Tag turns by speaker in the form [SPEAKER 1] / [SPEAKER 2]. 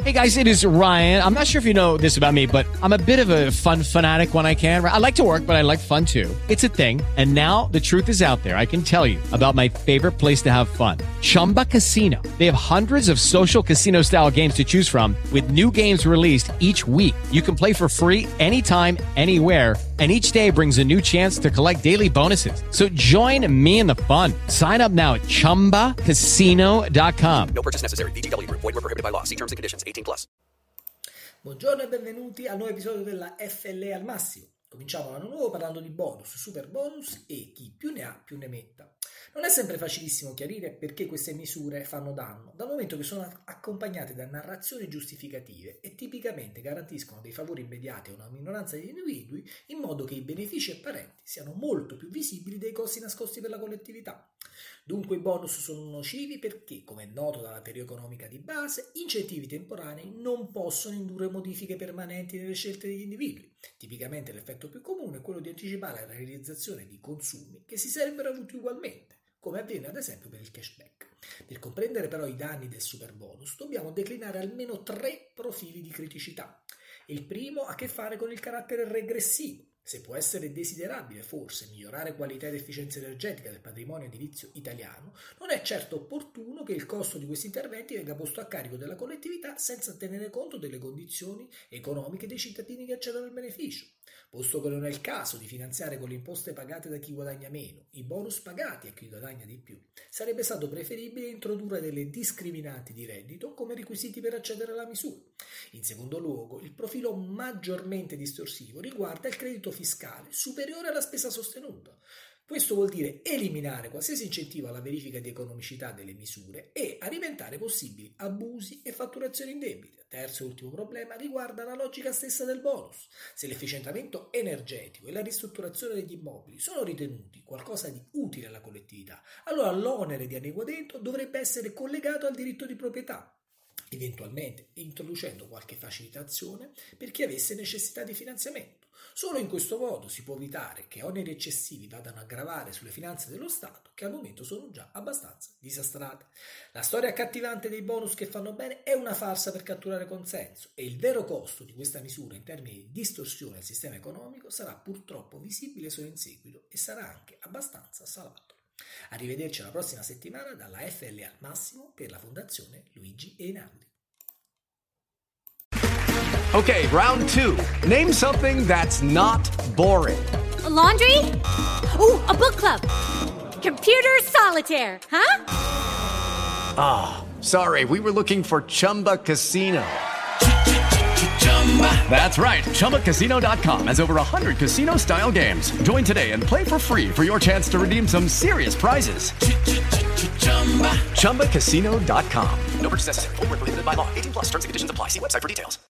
[SPEAKER 1] Hey guys, it is Ryan. I'm not sure if you know this about me, but I'm a bit of a fun fanatic when I can. I like to work, but I like fun too. It's a thing. And now the truth is out there. I can tell you about my favorite place to have fun. Chumba Casino. They have hundreds of social casino style games to choose from with new games released each week. You can play for free anytime, anywhere. And each day brings a new chance to collect daily bonuses. So join me in the fun. Sign up now at ChumbaCasino.com.
[SPEAKER 2] No purchase necessary. VGW Group. Void where prohibited by law. See terms and conditions. 18+.
[SPEAKER 3] Buongiorno e benvenuti al nuovo episodio della FLE al massimo. Cominciamo l'anno nuovo parlando di bonus, super bonus e chi più ne ha più ne metta. Non è sempre facilissimo chiarire perché queste misure fanno danno, dal momento che sono accompagnate da narrazioni giustificative e tipicamente garantiscono dei favori immediati a una minoranza di individui in modo che i benefici apparenti siano molto più visibili dei costi nascosti per la collettività. Dunque i bonus sono nocivi perché, come è noto dalla teoria economica di base, incentivi temporanei non possono indurre modifiche permanenti nelle scelte degli individui. Tipicamente l'effetto più comune è quello di anticipare la realizzazione di consumi che si sarebbero avuti ugualmente, come avviene ad esempio per il cashback. Per comprendere però i danni del super bonus dobbiamo declinare almeno 3 profili di criticità. Il primo ha a che fare con il carattere regressivo. Se può essere desiderabile forse migliorare qualità ed efficienza energetica del patrimonio edilizio italiano, non è certo opportuno che il costo di questi interventi venga posto a carico della collettività senza tenere conto delle condizioni economiche dei cittadini che accedono al beneficio. Posto che non è il caso di finanziare con le imposte pagate da chi guadagna meno, i bonus pagati a chi guadagna di più, sarebbe stato preferibile introdurre delle discriminanti di reddito come requisiti per accedere alla misura. In secondo luogo, il profilo maggiormente distorsivo riguarda il credito fiscale superiore alla spesa sostenuta. Questo vuol dire eliminare qualsiasi incentivo alla verifica di economicità delle misure e alimentare possibili abusi e fatturazioni indebite. Terzo e ultimo problema riguarda la logica stessa del bonus. Se l'efficientamento energetico e la ristrutturazione degli immobili sono ritenuti qualcosa di utile alla collettività, allora l'onere di adeguamento dovrebbe essere collegato al diritto di proprietà, eventualmente introducendo qualche facilitazione per chi avesse necessità di finanziamento. Solo in questo modo si può evitare che oneri eccessivi vadano a gravare sulle finanze dello Stato, che al momento sono già abbastanza disastrate. La storia accattivante dei bonus che fanno bene è una farsa per catturare consenso e il vero costo di questa misura in termini di distorsione del sistema economico sarà purtroppo visibile solo in seguito e sarà anche abbastanza salato. Arrivederci la prossima settimana dalla FLE al massimo per la Fondazione Luigi Einaudi.
[SPEAKER 4] Okay, round 2. Name something that's not boring.
[SPEAKER 5] A laundry? Ooh, a book club. Computer solitaire, huh?
[SPEAKER 4] Ah, sorry, we were looking for Chumba Casino. That's right, ChumbaCasino.com has over 100 casino-style games. Join today and play for free for your chance to redeem some serious prizes. ChumbaCasino.com.
[SPEAKER 2] No purchase necessary. Void where prohibited by law. 18+. Terms and conditions apply. See website for details.